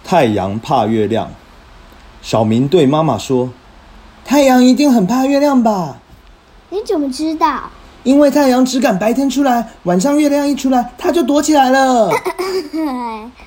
太阳怕月亮。小明对妈妈说：“太阳一定很怕月亮吧？” 你怎么知道？ 因为太阳只敢白天出来，晚上月亮一出来，它就躲起来了。